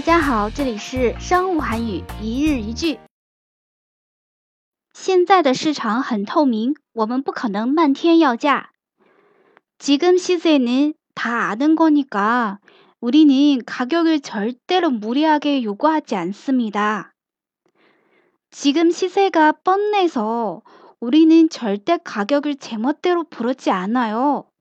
家好，这里是商务韩语一日一句。现在的市场很透明，我们不可能漫天要价。지금 시세는 다 아는 거니까 우리는 가격을 절대로 무리하게 요구하지 않습니다. 지금 시세가 뻔해서 우리는 절대 가격을 제멋대로 부르지 않아요.